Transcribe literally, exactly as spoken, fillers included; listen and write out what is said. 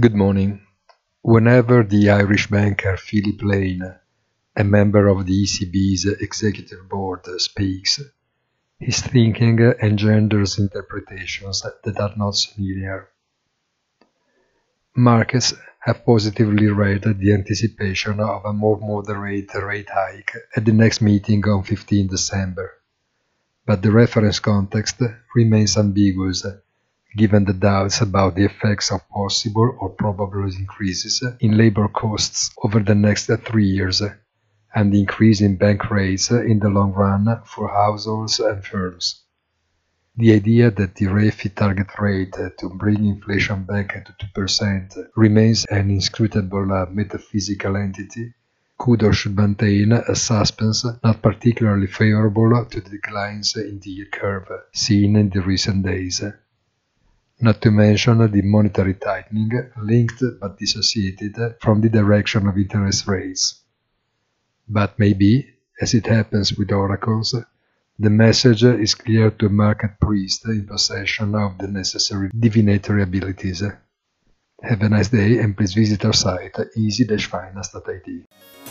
Good morning. Whenever the Irish banker Philip Lane, a member of the E C B's executive board, speaks, his thinking engenders interpretations that are not familiar. Markets have positively read the anticipation of a more moderate rate hike at the next meeting on fifteenth December, but the reference context remains ambiguous, given the doubts about the effects of possible or probable increases in labor costs over the next three years, and the increase in bank rates in the long run for households and firms. The idea that the R E F I target rate to bring inflation back to two percent remains an inscrutable metaphysical entity could or should maintain a suspense not particularly favorable to the declines in the yield curve seen in the recent days. Not to mention the monetary tightening linked but dissociated from the direction of interest rates. But maybe, as it happens with oracles, the message is clear to a market priest in possession of the necessary divinatory abilities. Have a nice day and please visit our site easy dash finance dot I T.